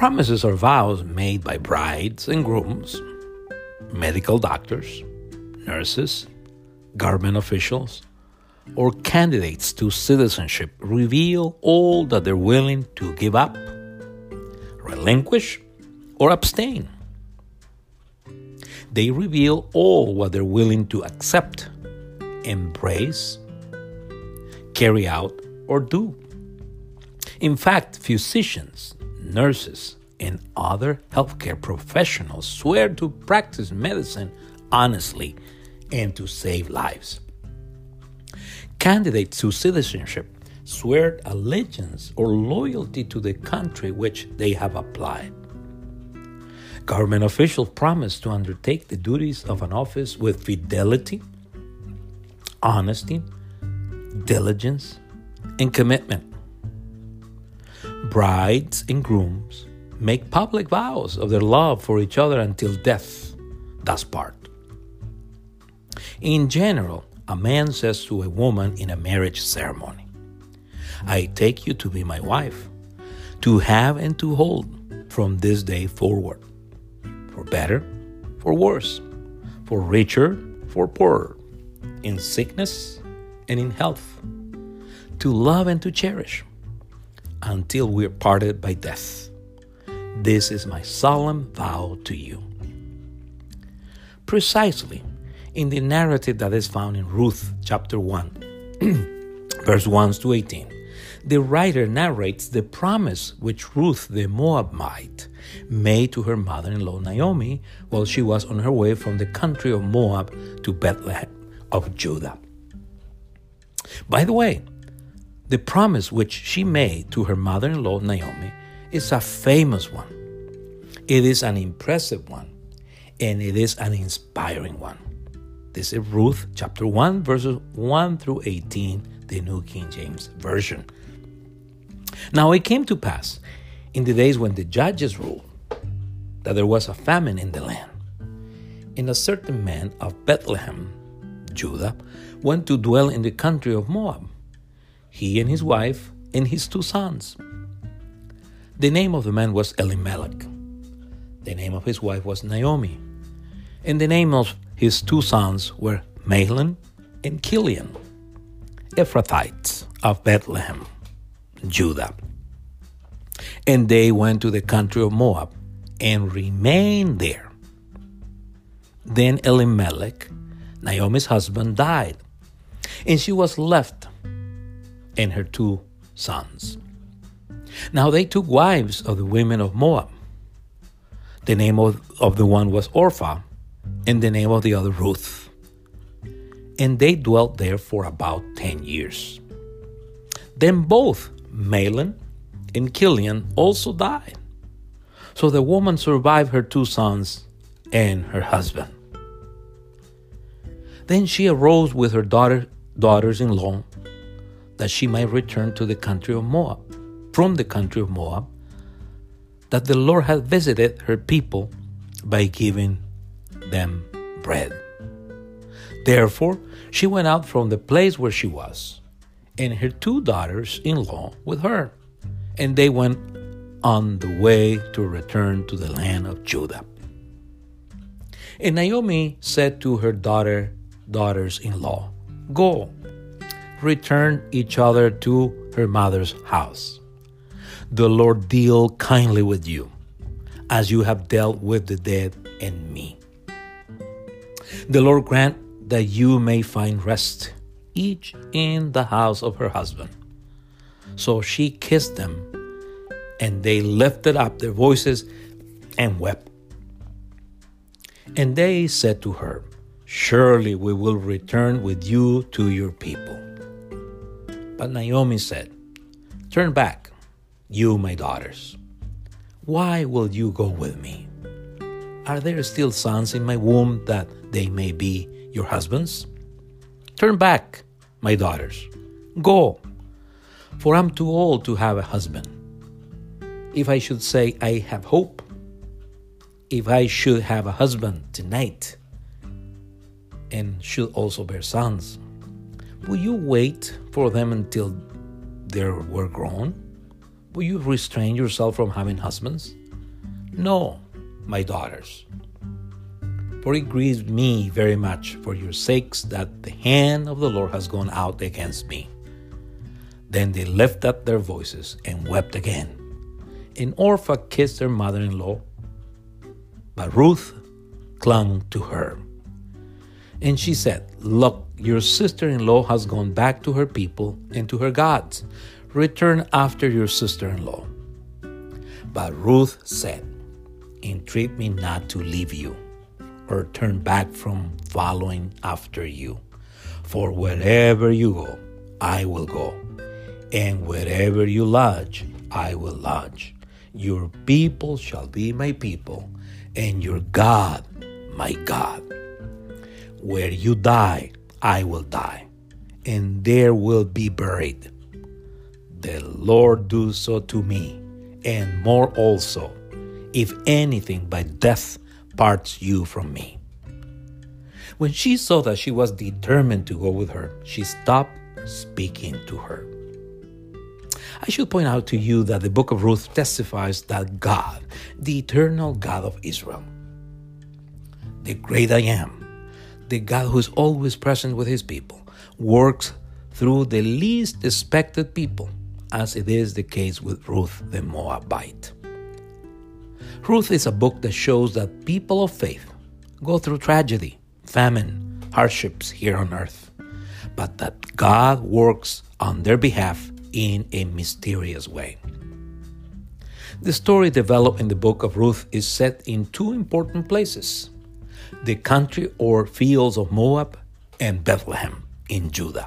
Promises are vows made by brides and grooms, medical doctors, nurses, government officials, or candidates to citizenship reveal all that they're willing to give up, relinquish, or abstain. They reveal all what they're willing to accept, embrace, carry out, or do. In fact, physicians, nurses, and other healthcare professionals swear to practice medicine honestly and to save lives. Candidates to citizenship swear allegiance or loyalty to the country which they have applied. Government officials promise to undertake the duties of an office with fidelity, honesty, diligence, and commitment. Brides and grooms make public vows of their love for each other until death does part. In general, a man says to a woman in a marriage ceremony, "I take you to be my wife, to have and to hold from this day forward, for better, for worse, for richer, for poorer, in sickness and in health, to love and to cherish, until we are parted by death. This is my solemn vow to you." Precisely in the narrative that is found in Ruth chapter 1, verse 1 to 18, the writer narrates the promise which Ruth the Moabite made to her mother-in-law Naomi while she was on her way from the country of Moab to Bethlehem of Judah. By the way, the promise which she made to her mother-in-law Naomi is a famous one. It is an impressive one, and it is an inspiring one. This is Ruth chapter 1, verses 1 through 18, the New King James Version. Now it came to pass in the days when the judges ruled that there was a famine in the land. And a certain man of Bethlehem, Judah, went to dwell in the country of Moab, he and his wife and his 2 sons. The name of the man was Elimelech. The name of his wife was Naomi. And the name of his 2 sons were Mahlon and Chilion, Ephrathites of Bethlehem, Judah. And they went to the country of Moab and remained there. Then Elimelech, Naomi's husband, died, and she was left and her 2 sons. Now they took wives of the women of Moab. The name of the one was Orpah, and the name of the other Ruth. And they dwelt there for about 10 years. Then both Mahlon and Chilion also died. So the woman survived her 2 sons and her husband. Then she arose with her daughters-in-law, that she might return to the country of Moab, from the country of Moab, that the Lord had visited her people by giving them bread. Therefore, she went out from the place where she was, and her 2 daughters-in-law with her, and they went on the way to return to the land of Judah. And Naomi said to her daughters-in-law, "Go, return each other to her mother's house. The Lord deal kindly with you, as you have dealt with the dead and me. The Lord grant that you may find rest, each in the house of her husband." So she kissed them, and they lifted up their voices and wept. And they said to her, "Surely we will return with you to your people." But Naomi said, "Turn back, you my daughters. Why will you go with me? Are there still sons in my womb that they may be your husbands? Turn back, my daughters. Go, for I'm too old to have a husband. If I should say I have hope, if I should have a husband tonight, and should also bear sons, will you wait for them until they were grown? Will you restrain yourself from having husbands? No, my daughters, for it grieves me very much for your sakes that the hand of the Lord has gone out against me. Then they lifted up their voices and wept again. And Orpah kissed her mother-in-law, but Ruth clung to her. And she said, "Look, your sister-in-law has gone back to her people and to her gods. Return after your sister-in-law." But Ruth said, "Entreat me not to leave you or turn back from following after you. For wherever you go, I will go, and wherever you lodge, I will lodge. Your people shall be my people, and your God my God. Where you die, I will die, and there will be buried. The Lord do so to me, and more also, if anything by death parts you from me." When she saw that she was determined to go with her, she stopped speaking to her. I should point out to you that the book of Ruth testifies that God, the eternal God of Israel, the great I am, the God who is always present with his people, works through the least expected people, as it is the case with Ruth the Moabite. Ruth is a book that shows that people of faith go through tragedy, famine, hardships here on earth, but that God works on their behalf in a mysterious way. The story developed in the book of Ruth is set in two important places: the country or fields of Moab and Bethlehem in Judah.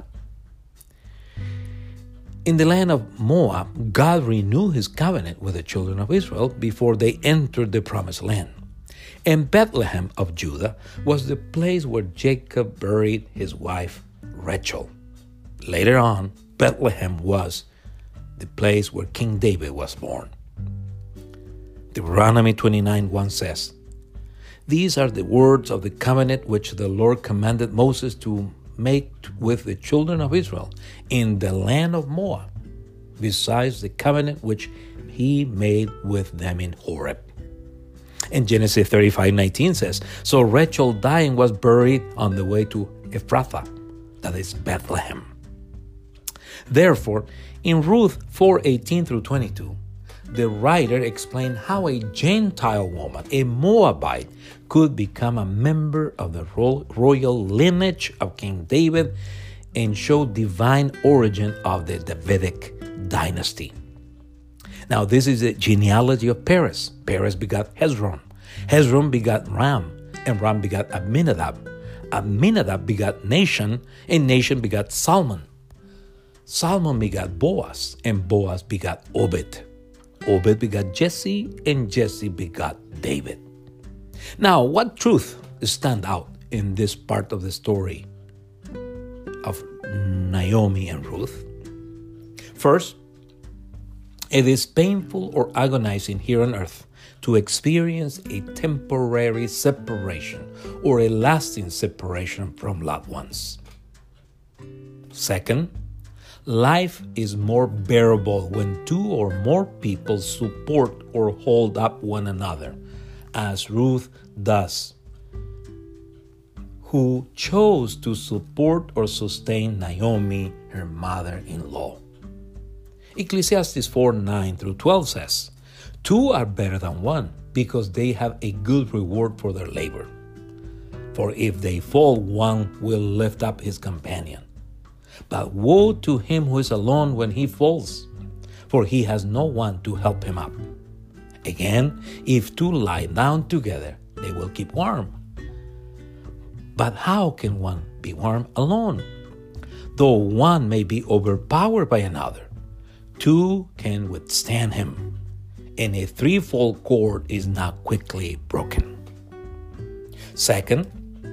In the land of Moab, God renewed his covenant with the children of Israel before they entered the promised land. And Bethlehem of Judah was the place where Jacob buried his wife Rachel. Later on, Bethlehem was the place where King David was born. Deuteronomy 29:1 says, "These are the words of the covenant which the Lord commanded Moses to make with the children of Israel in the land of Moab, besides the covenant which he made with them in Horeb." And Genesis 35:19 says, "So Rachel dying was buried on the way to Ephrathah," that is Bethlehem. Therefore, in Ruth 4:18 through 22, the writer explained how a Gentile woman, a Moabite, could become a member of the royal lineage of King David and show divine origin of the Davidic dynasty. Now, this is the genealogy of Perez. Perez begot Hezron. Hezron begot Ram, and Ram begot Amminadab. Amminadab begot Nahshon, and Nahshon begot Salmon. Salmon begot Boaz, and Boaz begot Obed. Obed begot Jesse, and Jesse begot David. Now, what truth stand out in this part of the story of Naomi and Ruth? First, it is painful or agonizing here on earth to experience a temporary separation or a lasting separation from loved ones. Second, life is more bearable when two or more people support or hold up one another, as Ruth does, who chose to support or sustain Naomi, her mother-in-law. Ecclesiastes 4:9 through 12 says, "Two are better than one, because they have a good reward for their labor. For if they fall, one will lift up his companion. But woe to him who is alone when he falls, for he has no one to help him up. Again, if two lie down together, they will keep warm. But how can one be warm alone? Though one may be overpowered by another, two can withstand him, and a threefold cord is not quickly broken." Second,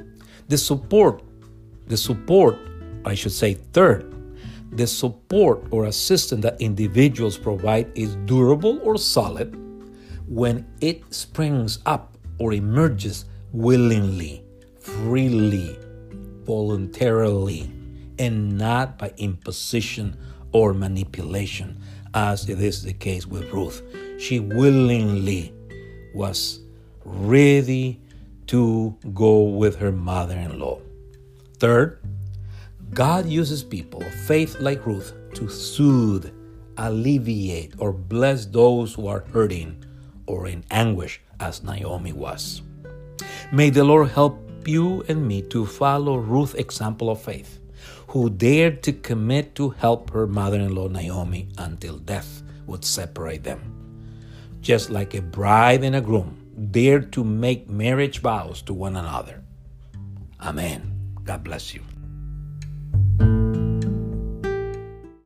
third, the support or assistance that individuals provide is durable or solid when it springs up or emerges willingly, freely, voluntarily, and not by imposition or manipulation, as it is the case with Ruth. She willingly was ready to go with her mother-in-law. Third, God uses people of faith like Ruth to soothe, alleviate, or bless those who are hurting or in anguish, as Naomi was. May the Lord help you and me to follow Ruth's example of faith, who dared to commit to help her mother-in-law Naomi until death would separate them. Just like a bride and a groom dared to make marriage vows to one another. Amen. God bless you.